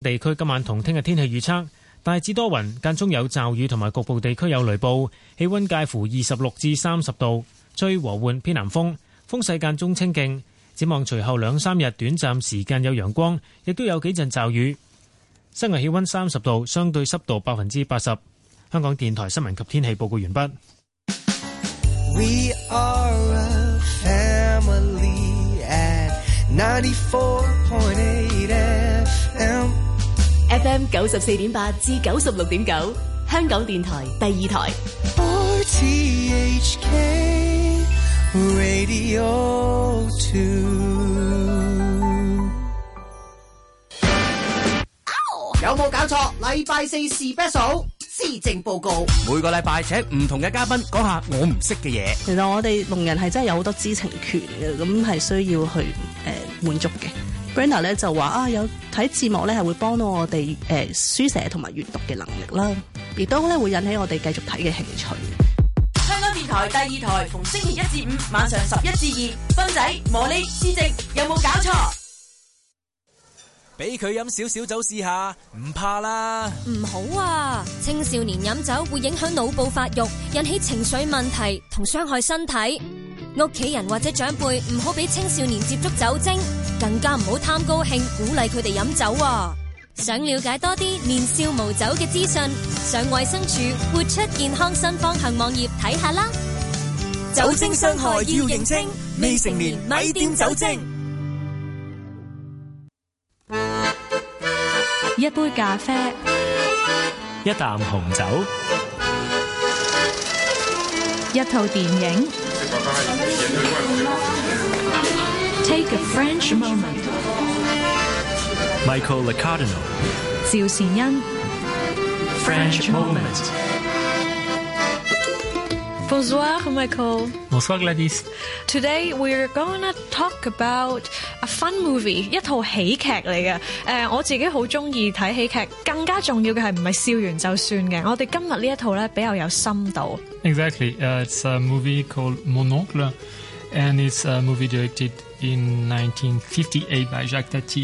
地區今晚同聽日天氣預測，大致多雲，間中有驟雨同埋局部地區有雷暴，氣溫介乎26至30度，吹和緩偏南風，風勢間中清勁。展望隨後2-3日短暫時間有陽光，亦都有幾陣驟雨。室外氣溫30度，相對濕度80%。香港電台新聞及天氣報告完畢。 We are a family at 94.8 FM FM94.8 至96.9，香港電台第二台。 RTHK Radio 2。 有冇搞錯？禮拜4 Special 施政報告，每個禮拜請唔同嘅嘉賓講下我唔識嘅嘢。 其實我哋聾人係真係有好多知情權嘅，咁係需要去滿足嘅。Brenda 咧就話有睇字幕咧係會幫到我哋書寫同埋閱讀嘅能力啦，亦都咧會引起我哋繼續睇嘅興趣。 香港電台第二台逢星期1至5晚上11至2，芬仔、茉莉、施政有冇搞錯？ 俾佢飲少少酒試下，唔怕啦。 唔好啊！青少年飲酒會影響腦部發育，引起情緒問題同傷害身體。屋企人或者長輩唔好俾青少年接觸酒精，更加唔好貪高興鼓勵佢哋飲酒啊！想了解多啲年少無酒嘅資訊，上衛生署活出健康新方向網頁睇下啦。 酒精傷害要認清，未成年咪掂酒精。 一杯咖啡， 一啖紅酒， 一套電影。Take a French moment. Michael Licardino. 趙善恩。 French moment. Bonsoir, Michael. Bonsoir, Gladys. Today we're gonna talk about a fun movie， 一套喜劇嚟嘅。我自己好中意睇喜劇，更加重要嘅係唔係笑完就算嘅。我哋今日呢一套咧比較有深度。 Exactly. It's a movie called Mon Oncle, and it's a movie directed in 1958 by Jacques Tati,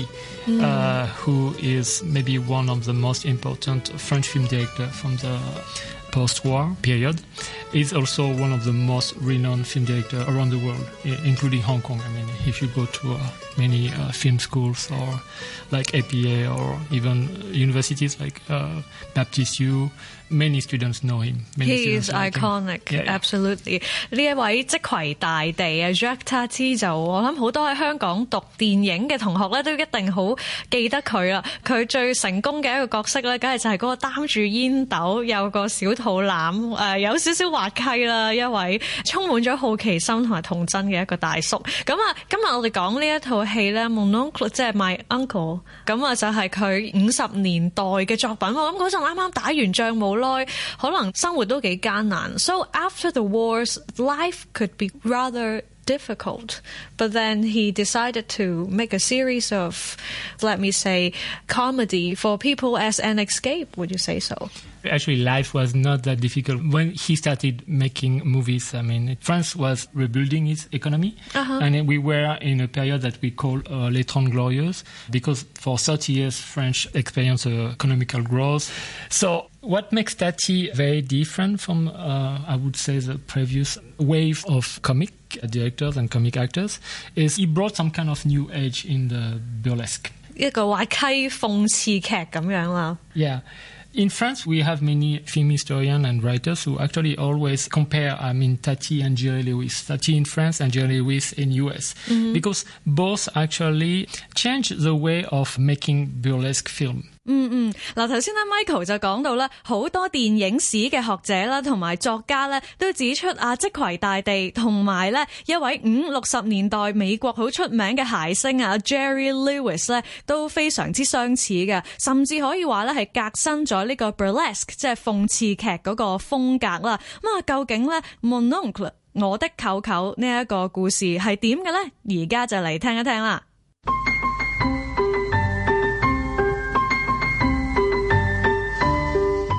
who is maybe one of the most important French film directors from the post-war period. He's also one of the most renowned film directors around the world, including Hong Kong. I mean, if you go to many film schools or like APA or even universities like Baptist U, many students know him. He is iconic, yeah. Absolutely. 呢一位即攜大地啊 Jacques Tati 就我諗好多喺香港讀電影嘅同學咧都一定好記得佢啦。佢最成功嘅一個角色咧，梗係就係嗰個擔住煙斗有個小肚腩有少少滑稽啦，一位充滿咗好奇心同埋童真嘅一個大叔。咁啊，今日我哋講呢一套戲咧 Mon Oncle 即係 My Uncle， 咁啊就係佢50年代嘅作品。我諗嗰陣啱啱打完仗冇耐，可能生活都幾艱難。So after the wars, life could be rather difficult, but then he decided to make a series of, let me say, comedy for people as an escape. Would you say so? Actually, life was not that difficult when he started making movies. I mean, France was rebuilding its economy, and we were in a period that we call les Trente Glorieuses, because for 30 years, French experienced economical growth. So what makes Tati very different from, I would say, the previous wave of comic directors and comic actors is he brought some kind of new age in the burlesque. 一個滑稽諷刺劇咁樣啦。 Yeah. In France, we have many film historians and writers who actually always compare, Tati and Jerry Lewis. Tati in France and Jerry Lewis in US. Because both actually change the way of making burlesque film. 嗱，頭先咧 Michael 就講到咧，好多電影史嘅學者啦，同埋作家咧，都指出即攜大地同埋咧一位50-60年代美國好出名嘅諧星Jerry Lewis 咧，都非常之相似嘅，甚至可以話咧係革新咗呢個 burlesque 即係諷刺劇嗰個風格啦。咁究竟咧 Mon Oncle 我的舅舅呢一個故事係點嘅咧？而家就嚟聽一聽啦。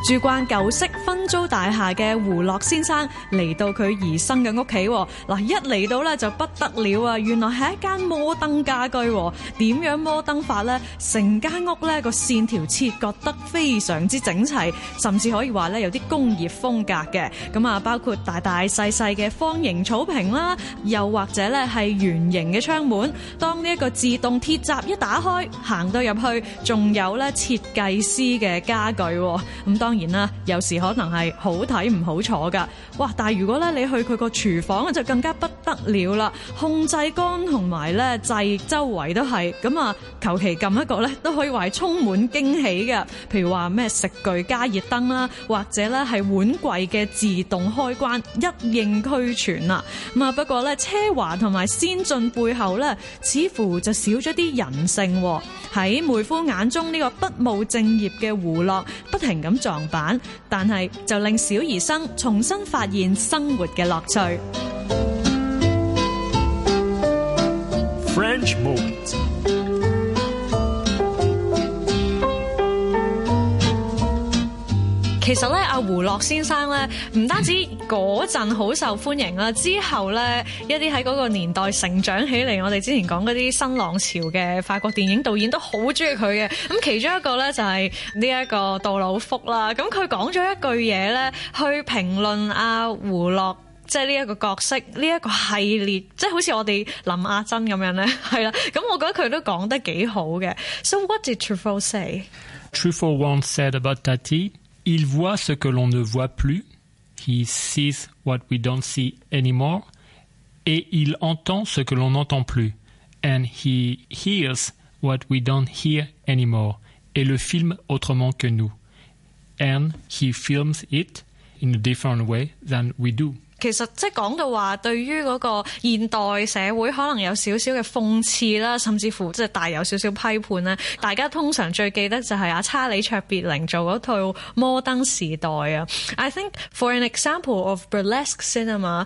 住慣舊式分租大廈嘅胡樂先生嚟到佢兒生嘅屋企，嗱一嚟到咧就不得了啊！原來係一間摩登家居，點樣摩登法呢？成間屋咧個線條切割得非常之整齊，甚至可以話咧有啲工業風格嘅。咁啊，包括大大細細嘅方形草坪啦，又或者咧係圓形嘅窗門。當呢一個自動鐵閘一打開，行到入去，仲有咧設計師嘅家具。咁當然啦，有時可能係好睇唔好坐噶。哇！但係如果咧你去佢個廚房就更加不得了啦，控制杆同埋咧掣周圍都係咁啊，求其撳一個咧都可以話係充滿驚喜嘅。譬如話咩食具加熱燈啦，或者咧係碗櫃嘅自動開關，一應俱全啦。咁啊，不過咧奢華同埋先進背後咧，似乎就少咗啲人性。喺妹夫眼中呢個不務正業嘅胡樂不停咁撞板，但係就令小兒生重新發現生活嘅樂趣。 French Moment。 其實咧，阿胡樂先生咧，唔單止嗰陣好受歡迎啦，之後咧一啲喺嗰個年代成長起嚟，我哋之前講嗰啲新浪潮嘅法國電影導演都好中意佢嘅。咁其中一個咧就係呢一個杜魯福啦。咁佢講咗一句嘢咧，去評論阿胡樂，即係呢一個角色，呢一個系列，即係好似我哋林亞珍咁樣咧，係啦。咁我覺得佢都講得幾好嘅。So what did Truffaut say? Truffaut once said about Tati.Il voit ce que l'on ne voit plus, he sees what we don't see anymore, et il entend ce que l'on n'entend plus, and he hears what we don't hear anymore, et le filme autrement que nous, and he films it in a different way than we do. 其實即係講到話，對於嗰個現代社會可能有少少嘅諷刺啦，甚至乎即係帶有少少批判咧。大家通常最記得就係阿查理卓別靈做嗰套《摩登時代》啊。I think for an example of burlesque cinema,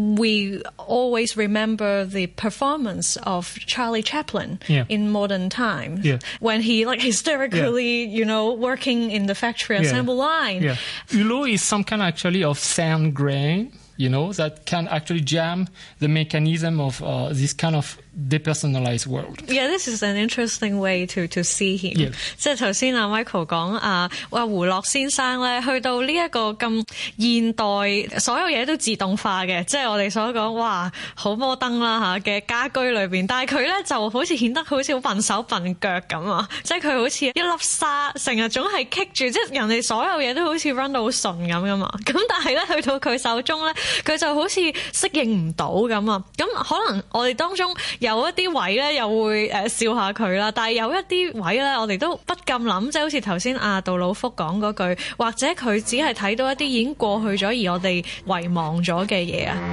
we always remember the performance of Charlie Chaplin in modern times when he like hysterically, you know, working in the factory assembly line. Hulot is some kind actually of sand grain.You know, that can actually jam the mechanism of this kind of depersonalized world. Yeah, this is an interesting way to see him. 即係頭先阿 Michael 講胡樂先生咧，去到呢一個咁現代，所有嘢都自動化嘅，即係我哋所講哇好摩登啦嘅家居裏邊，但係佢咧就好似顯得好似好笨手笨腳咁啊！即係佢好似一粒沙，成日總係棘住，即係人哋所有嘢都好似 run 到好順咁噶嘛。咁但係咧去到佢手中咧，佢就好似適應唔到咁啊！咁可能我哋當中有一啲位咧又會笑下佢啦，但係有一啲位咧我哋都不禁諗，即係好似頭先阿杜魯福講嗰句，或者佢只係睇到一啲已經過去咗而我哋遺忘咗嘅嘢啊。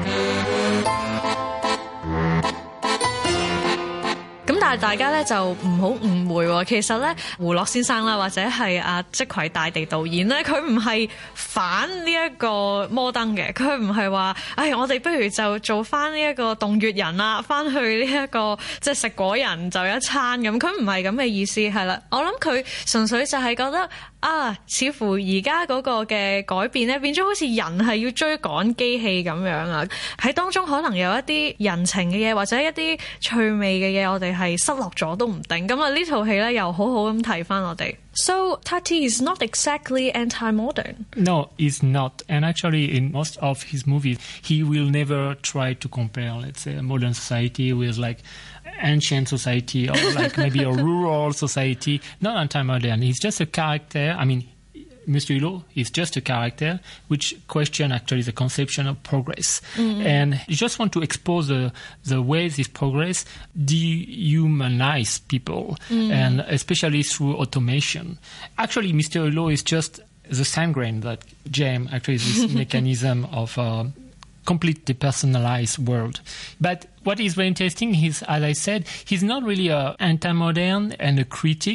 咁但係大家咧就唔好誤會喎，其實咧胡樂先生啦，或者係阿即葵大地導演咧，佢唔係反呢一個摩登嘅，佢唔係話，我哋不如就做翻呢一個洞穴人啦，翻去呢一個即係食果人就一餐咁，佢唔係咁嘅意思，係啦，我諗佢純粹就係覺得似乎而家嗰個嘅改變咧，變咗好似人係要追趕機器咁樣啊！喺當中可能有一啲人情嘅嘢，或者一啲趣味嘅嘢，我哋係失落咗都唔定。咁啊，呢套戲咧又好好咁提翻我哋。So Tati is not exactly anti-modern. No, he's not. And actually, in most of his movies, he will never try to compare, let's say, a modern society with like ancient society or like maybe a rural society. Not anti-modern. He's just a character. I mean, Mr. Hulot is just a character which question actually the conception of progress. Mm-hmm. And you just want to expose the ways this progress dehumanize people, and especially through automation. Actually, Mr. Hulot is just the sand grain that James actually is this mechanism of complete depersonalized world. But what is very interesting is, as I said, he's not really an anti-modern and a critic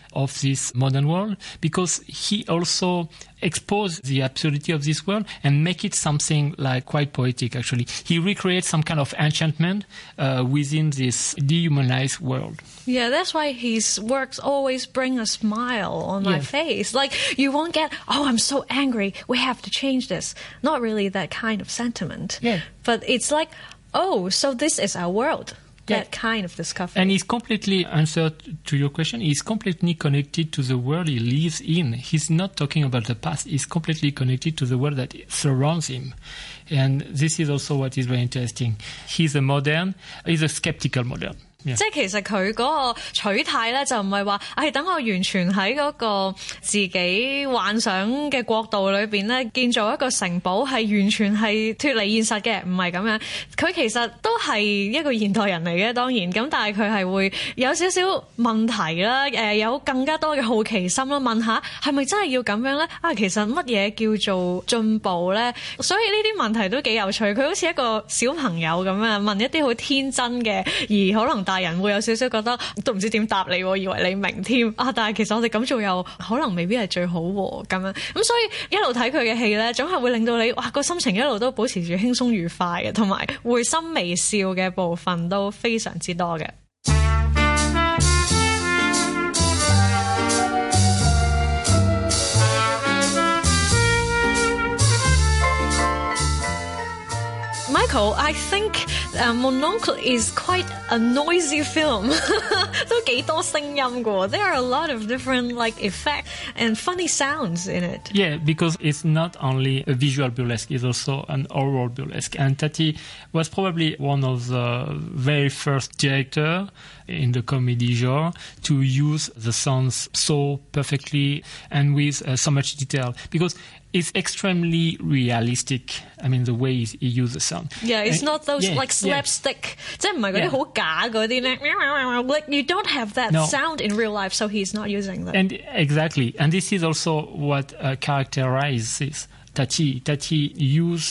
of this modern world because he also expose the absurdity of this world and make it something like quite poetic, actually. He recreates some kind of enchantment within this dehumanized world. Yeah, that's why his works always bring a smile on my face. Like, you won't get, oh, I'm so angry, we have to change this. Not really that kind of sentiment. Yeah. But it's like, oh, so this is our world. That kind of discovery. And he's completely, answered to your question, he's completely connected to the world he lives in. He's not talking about the past. He's completely connected to the world that surrounds him. And this is also what is very interesting. He's a modern, he's a skeptical modern. Yeah. 即係其實佢嗰個取態咧，就唔係話，等我完全喺嗰個自己幻想嘅國度裏邊咧，建造一個城堡，係完全係脫離現實嘅，唔係咁樣。佢其實都係一個現代人嚟嘅，當然咁，但係佢係會有少少問題啦，有更加多嘅好奇心啦，問下係咪真係要咁樣咧？其實乜嘢叫做進步咧？所以呢啲問題都幾有趣。佢好似一個小朋友咁樣問一啲好天真嘅，而可能大人會有少少覺得都唔知點答你喎，以為你明添但係其實我哋咁做又可能未必係最好喎咁樣。咁所以一路睇佢嘅戲咧，總係會令到你個心情一路都保持住輕鬆愉快嘅，同埋會心微笑嘅部分都非常之多嘅。Michael, I think Mon Oncle is quite a noisy film. 都幾多聲音㗎。There are a lot of different effects and funny sounds in it. Yeah, because it's not only a visual burlesque, it's also an oral burlesque. And Tati was probably one of the very first directors in the comedy genre to use the sounds so perfectly and with so much detail. Because it's extremely realistic. I mean, the way he uses the sound. Yeah, it's not those slapstick. 即係唔係嗰啲好假嗰啲咧。Like you don't have that sound in real life, so he's not using that. And exactly, and this is also what characterizes Tati. Tati use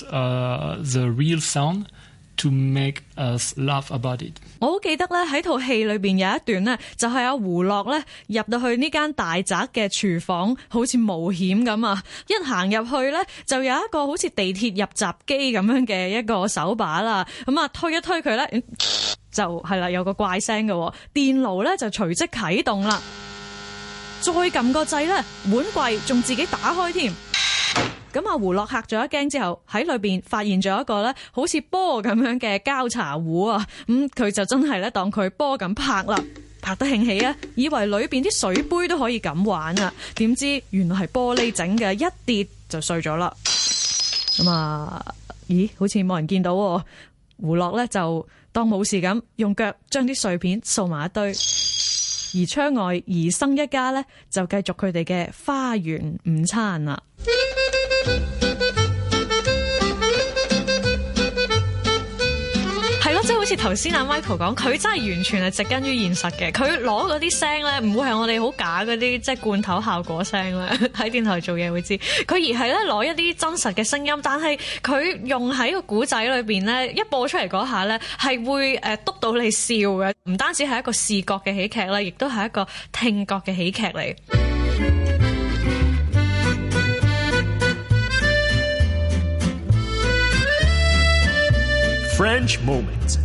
the real sound to make us laugh about it. 我好記得咧喺套戲裏邊有一段咧，就係阿胡樂咧入到去呢間大宅嘅廚房，好似冒險咁啊！一行入去咧，就有一個好似地鐵入閘機咁樣嘅一個手把啦，咁推一推佢咧，就係啦，有個怪聲嘅，電爐咧就隨即啟動啦，再撳個掣咧，碗櫃仲自己打開添。咁胡樂嚇咗一驚之後，喺裏邊發現咗一個咧好似波咁樣嘅膠茶壺啊！佢就真係咧當佢波咁拍啦，拍得興起啊！以為裏邊啲水杯都可以咁玩啊，點知原來係玻璃整嘅，一跌就碎咗啦。咦？好似冇人見到喎。胡樂咧就當冇事咁，用腳將啲碎片掃埋一堆。而窗外兒生一家咧就繼續佢哋嘅花園午餐啦。係咯，即係好似頭先阿 Michael 講，佢真係完全係植根於現實嘅。佢攞嗰啲聲咧，唔會係我哋好假嗰啲即係罐頭效果聲咧。喺電台做嘢會知，佢而係咧攞一啲真實嘅聲音，但係佢用喺個古仔裏邊咧，一播出嚟嗰下咧，係會督到你笑嘅。唔單止係一個視覺嘅喜劇啦，亦都係一個聽覺嘅喜劇嚟。 French Moment。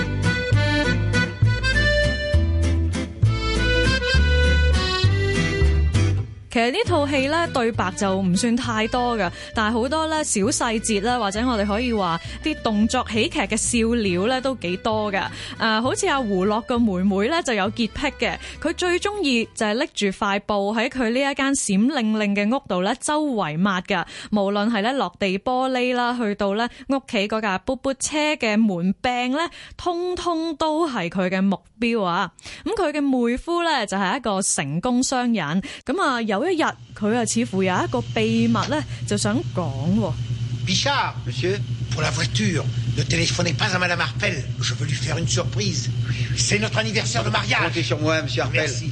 其實呢套戲咧對白就唔算太多㗎，但係好多咧小細節啦，或者我哋可以話啲動作喜劇嘅笑料咧都幾多㗎。好似阿胡樂個妹妹咧就有潔癖嘅，佢最中意就係拎住塊布喺佢呢一間閃靈靈嘅屋度咧周圍抹㗎。無論係咧落地玻璃啦，去到咧屋企嗰架噗噗車嘅門柄咧，通通都係佢嘅目標啊！咁佢嘅妹夫咧就係一個成功商人，咁有一日佢似乎有一個秘密咧，就想講。 Bichard, monsieur, pour la voiture, ne téléphonez pas à Madame Harpel. Je veux lui faire une surprise. C'est notre anniversaire de mariage. Comptez sur moi, monsieur Harpel. Merci.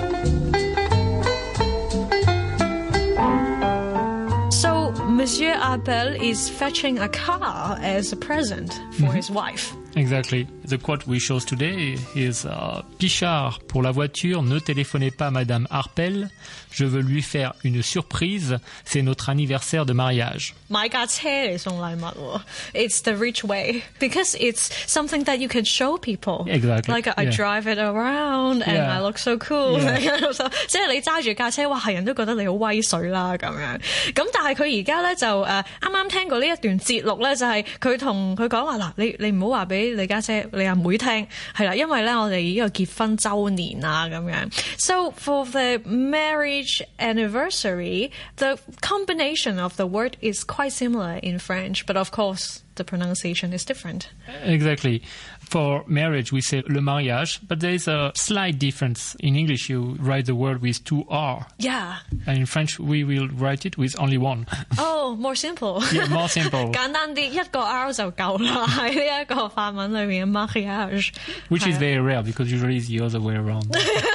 Monsieur Marpel is fetching a car as a present for his wife. Exactly. The quote we chose today is Pichard, pour la voiture, ne téléphonez pas Madame Harpel. Je veux lui faire une surprise. C'est notre anniversaire de mariage. 買架車嚟送禮物喎 It's the rich way because it's something that you can show people. Exactly. Like I drive it around and I look so cool. 即係你揸住架車，哇，係人都覺得你好威水啦咁樣。咁但係佢而家咧就啱啱聽過呢一段節錄咧，就係佢同佢講話嗱，你唔好話俾你家姐你阿妹聽係啦，因為咧我哋呢個結婚週年啊咁樣。So for the marriage anniversary, the combination of the word is quite similar in French, but of course the pronunciation is different. Exactly. For marriage, we say le mariage, but there is a slight difference. In English, you write the word with 2 R. Yeah. And in French, we will write it with only 1. Oh, more simple. Yeah, more simple. 簡單啲，一個 R 就夠啦。喺呢一個法文裏面嘅 mariage. Which is very rare because usually it's the other way around.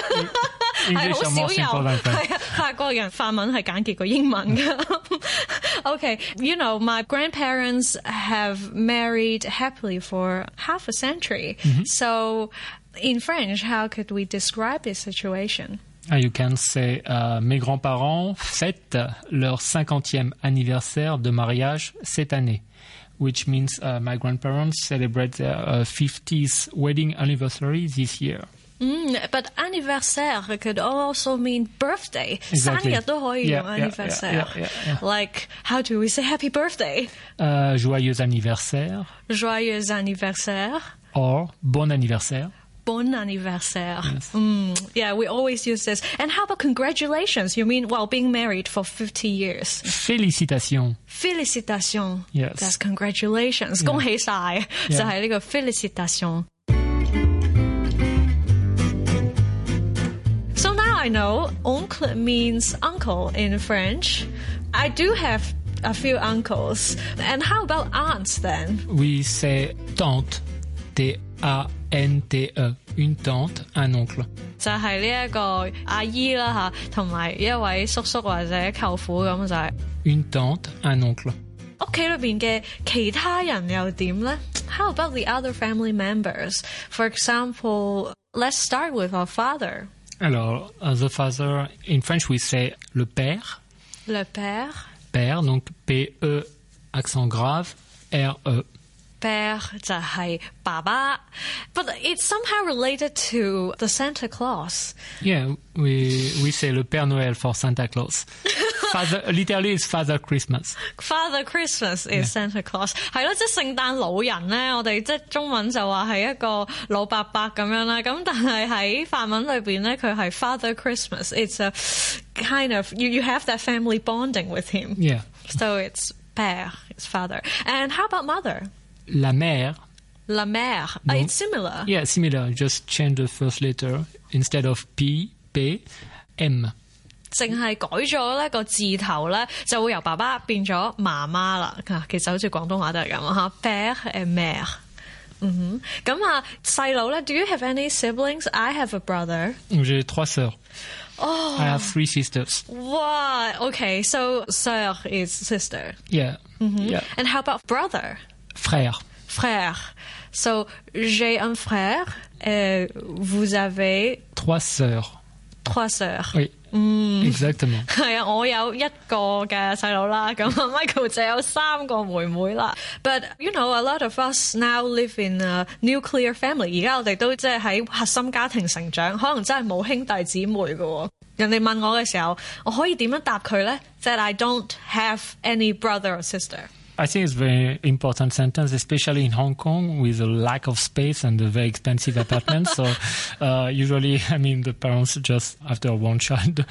English are more simple than French. 法國人法文係簡潔過英文㗎。Okay, you know, my grandparents have married happily for half a century. So in French, how could we describe this situation? You can say mes grands-parents fêtent leur 50e anniversaire de mariage cette année, which means my grandparents celebrate their 50th wedding anniversary this year. But anniversaire could also mean birthday. Exactly. 生日都可以用 anniversaire. Like, how do we say happy birthday? Joyeux anniversaire. Joyeux anniversaire. Or bon anniversaire. Bon anniversaire. Yes. Yeah, we always use this. And how about congratulations? You mean, well, being married for 50 years. Félicitations. Félicitations. Yes. That's congratulations. 恭喜晒，就係呢個 félicitations. So now I know oncle means uncle in French. I do have a few uncles. And how about aunts then? We say tante. T-A-N-T-E. Une tante, un oncle. 就係呢一個阿姨啦嚇，同埋一位叔叔或者舅父咁就係。 Une tante, un oncle. 屋企裏邊嘅其他人又點呢？ How about the other family members? For example, let's start with our father. Alors, the father, in French we say le père. Le père. Père, donc P-E, accent grave, R-E. Père 就係爸爸 But it's somehow related to the Santa Claus. Yeah, we say le Père Noël for Santa Claus. Father, literally it's Father Christmas. Father Christmas is Santa Claus. 係咯，即係聖誕老人咧，我哋即係中文就話係一個老伯伯咁樣啦。咁但係喺法文裏邊咧，佢係 Father Christmas. It's a kind of, you have that family bonding with him. Yeah. So it's père, it's father. And how about mother? La mère. La mère. It's similar. Yeah, similar. Just change the first letter. Instead of P, P, M. 淨係改咗呢個字頭咧，就會由爸爸變咗媽媽啦。其實好似廣東話都係咁嚇 ，père et mère。咁啊，細佬咧 ，Do you have any siblings? I have a brother. J'ai 3 sœurs. Oh. I have 3 sisters. Wow. Okay, so sœur is sister. Yeah. Yeah. And how about brother? Frère. Frère. So j'ai un frère. Vous avez 3 sœurs. 3 sœurs. Oui. Exactement. 係啊，我有一個嘅細佬啦，咁 Michael 就有3個妹妹啦。But you know, a lot of us now live in a nuclear family. 而家我哋都即係喺核心家庭成長，可能真係冇兄弟姊妹嘅。人哋問我嘅時候，我可以點樣答佢咧？That I don't have any brother or sister. I think it's a very important sentence, especially in Hong Kong with a lack of space and a very expensive apartment. So usually, I mean, the parents just, after one child,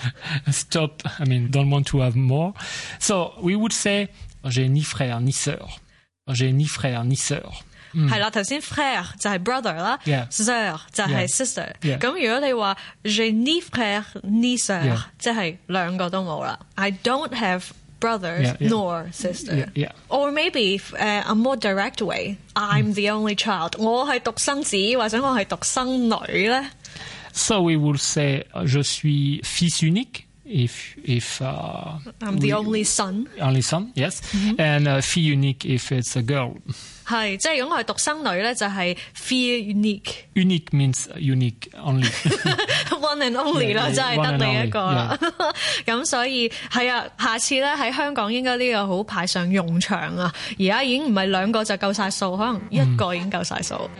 don't want to have more. So we would say, j'ai ni frère ni sœur. J'ai ni frère ni sœur. 係啦，頭先 frère 就係 brother 啦 ，sœur 就係 sister。咁如果你話 j'ai ni frère ni sœur，即係兩個都冇啦。I don't have brothers nor sister. Or maybe a more direct way, I'm the only child. 我係獨生子或者我係獨生女咧。 So we will say je suis fils unique. if I'm the only son. Only son, yes. And fille unique if it's a girl. 係，即係如果我係獨生女咧，就係 fille unique. Unique means unique only. One and only 啦，真係得你一個啦。咁所以係啊，下次咧喺香港應該呢個好派上用場啊！而家已經唔係兩個就夠晒數，可能一個已經夠晒數。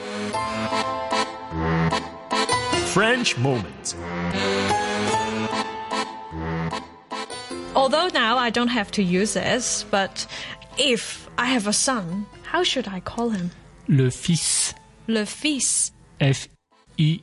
French moment. Although now I don't have to use this, but if I have a son, how should I call him? Le fils. Le fils. F-I-L-S.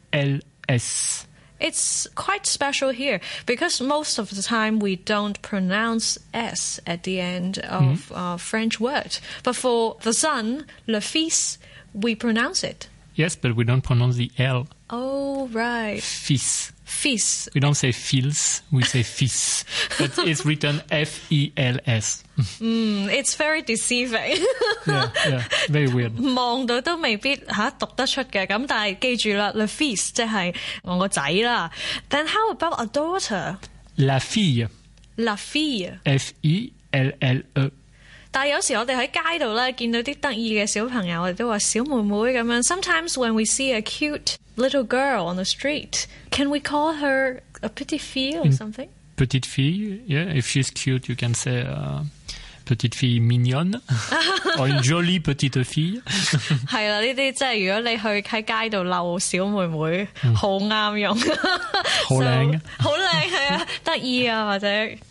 It's quite special here because most of the time we don't pronounce S at the end of French word. But for the son, le fils, we pronounce it. Yes, but we don't pronounce the L. Oh, right. Fils. Fils. We don't say fils, we say fils. But it's written F-E-L-S. It's very deceiving. yeah, very weird. 望到都未必讀得出嘅，咁但係記住啦 ，le fils 即係我個仔啦。Then how about a daughter? La fille. La fille. F-I-L-L-E. 但係有時我哋喺街度咧見到啲得意嘅小朋友，我哋都話小妹妹咁樣。Sometimes when we see a cute little girl on the street, can we call her a petite fille or something? Petite fille, yeah. If she's cute, you can say petite fille mignonne or une jolie petite fille. 係啦，呢啲即係如果你去喺街度鬧小妹妹，好啱用， 好靚， 好靚係啊，得意啊或者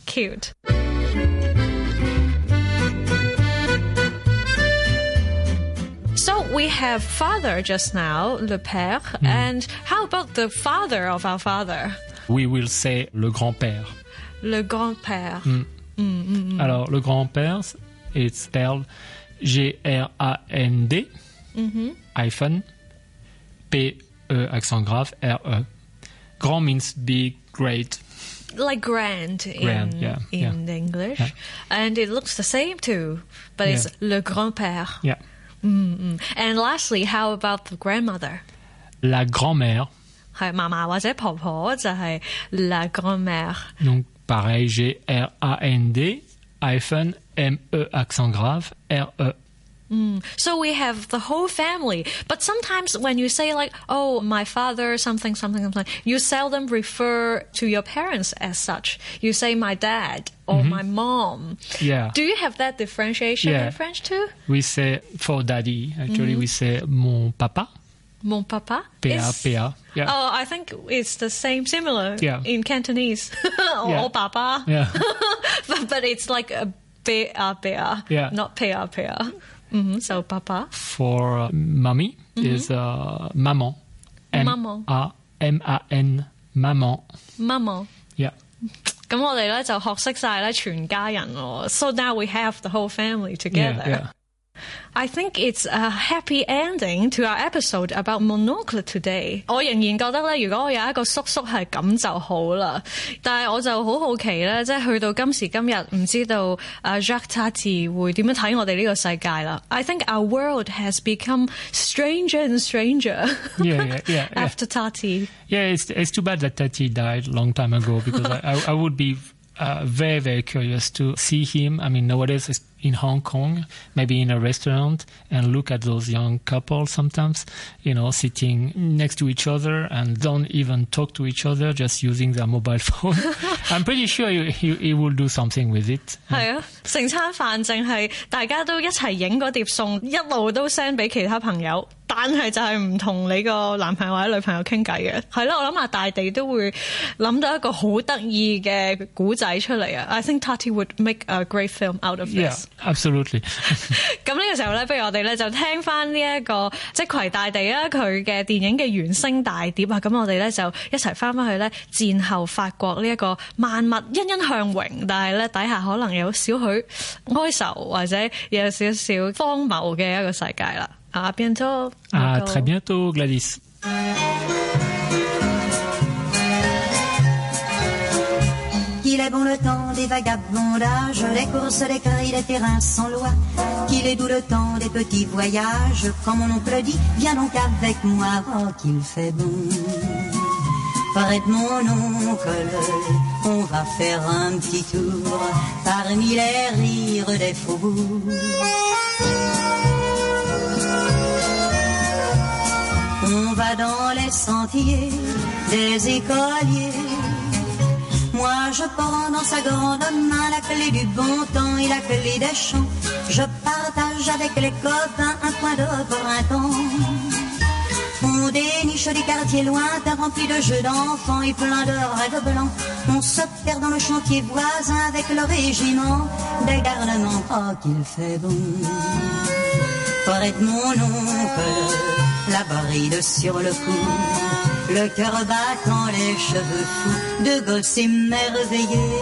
cute。So we have father just now, le père, and how about the father of our father? We will say le grand-père. Le grand-père. Alors, le grand-père, it's spelled G-R-A-N-D, hyphen, P-E, accent grave, R-E. Grand means big, great. Like grand in English. Yeah. And it looks the same too, but it's le grand-père. Yeah. And lastly, how about the grandmother? La grand-mère. 係嫲嫲或者婆婆就係 la grand-mère. Donc pareil, G-R-A-N-D, hyphen, M-E, accent grave, R-E. So we have the whole family. But sometimes when you say like, oh, my father, something, you seldom refer to your parents as such. You say my dad or my mom. Yeah. Do you have that differentiation in French too? We say, for daddy, actually, we say mon papa. Mon papa? P-A. Yeah. Oh, I think it's the similar in Cantonese. Or papa. Yeah. but it's like a P-A, not P-A. So papa. For mommy is maman. M-A-M-A-N. Maman. Maman. Yeah. 咁我哋咧就學識晒咧全家人咯。So now we have the whole family together. Yeah. I think it's a happy ending to our episode about Monocle today. 我仍然覺得咧，如果我有一個叔叔係咁就好啦。但係我就好好奇咧，即係去到今時今日，唔知道Jacques Tati 會點樣睇我哋呢個世界啦。I think our world has become stranger and stranger. Yeah. After Tati. Yeah, it's too bad that Tati died a long time ago because I would be very, very curious to see him. I mean, nowadays in Hong Kong, maybe in a restaurant, and look at those young couples sometimes, sitting next to each other and don't even talk to each other, just using their mobile phone. I'm pretty sure he will do something with it. 係啊，成餐飯淨係大家都一齊影嗰碟餸，一路都 send 俾其他朋友。但係就係唔同你個男朋友或者女朋友傾偈嘅，係咯，我諗下大地都會諗到一個好得意嘅古仔出嚟啊 ！I think Tati would make a great film out of this. Yeah, absolutely. 咁呢個時候咧，不如我哋咧就聽翻呢一個即攜大地啊佢嘅電影嘅原聲大碟啊！咁我哋咧就一齊翻去咧戰後法國呢一個萬物欣欣向榮，但係咧底下可能有少許哀愁或者有少少荒謬嘅一個世界啦。À bientôt. À très bientôt, Gladys. Qu'il est bon le temps des vagabondages, des courses, des cris, des terrains sans loi. Qu'il est doux le temps des petits voyages. Quand mon oncle dit, viens donc avec moi, oh qu'il fait bon. Fred mon oncle, on va faire un petit tour parmi les rires des faubourgs. On va dans les sentiers des écoliers. Moi je prends dans sa grande main la clé du bon temps et la clé des champs. Je partage avec les copains un coin de printemps. On déniche des quartiers lointains remplis de jeux d'enfants et plein de rêves blancs. On se perd dans le chantier voisin avec le régiment des garnements. Oh qu'il fait bon. Prête mon oncle, la bride sur le cou, le cœur battant, les cheveux fous, de gosses émerveillés.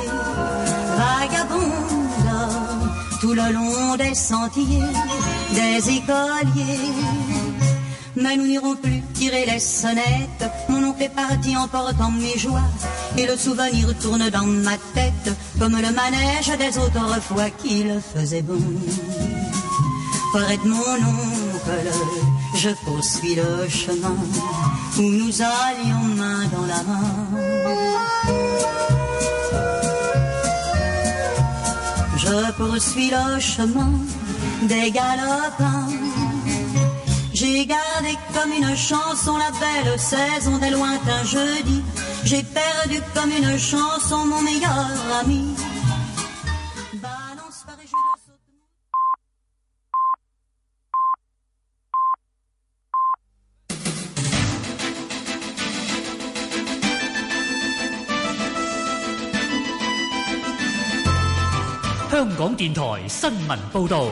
Vagabonde tout le long des sentiers des écoliers. Mais nous n'irons plus tirer les sonnettes. Mon oncle est parti emportant mes joies, et le souvenir tourne dans ma tête comme le manège des autres fois qu'il faisait bon. Près de mon oncle, je poursuis le chemin où nous allions main dans la main. Je poursuis le chemin des galopins. J'ai gardé comme une chanson la belle saison des lointains jeudis. J'ai perdu comme une chanson mon meilleur ami. Balance par et je danse. 香港電台新聞報導。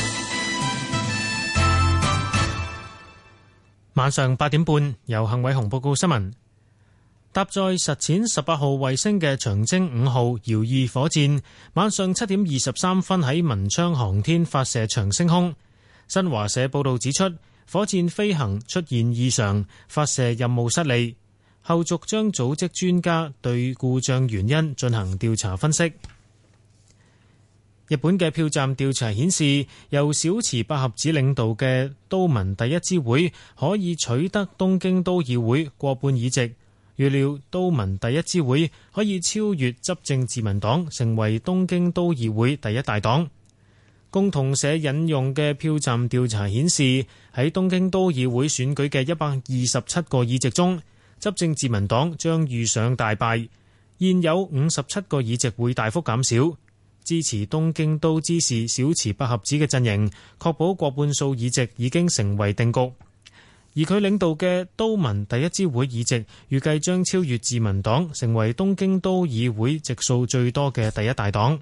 晚上8點半，由幸偉雄報告新聞。搭載實踐18號衛星嘅長征5號遙2火箭，晚上7點23分喺文昌航天發射場升空。新華社報導指出，火箭飛行出現異常，發射任務失利，後續將組織專家對故障原因進行調查分析。日本嘅票站調查顯示，由小池百合子領導嘅都民第一支會可以取得東京都議會過半議席，預料都民第一支會可以超越執政自民黨，成為東京都議會第一大黨。共同社引用嘅票站調查顯示，喺東京都議會選舉嘅127個議席中，執政自民黨將遇上大敗，現有57個議席會大幅減少。支持東京都知事小池百合子嘅陣營，確保過半數議席已經成為定局。而佢領導嘅都民第一支會議席，預計將超越自民黨，成為東京都議會席數最多嘅第一大黨。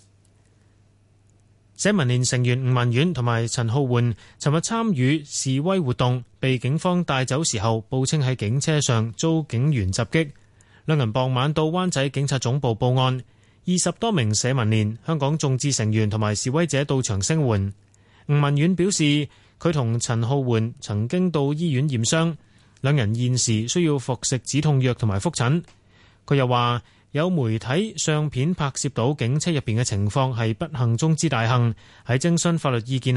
社民連成員吳文遠同埋陳浩桓尋日參與示威活動，被警方帶走時候，報稱喺警車上遭警員襲擊。兩人傍晚到灣仔警察總部報案。20多名社民連、香港眾志成員同埋示威者到場聲援。吳文遠表示，佢同陳浩桓曾經到醫院驗傷，兩人現時需要服食止痛藥同埋覆診。佢又話，有媒體相片拍攝到警車入邊嘅情況係不幸中之大幸，喺徵詢法律意見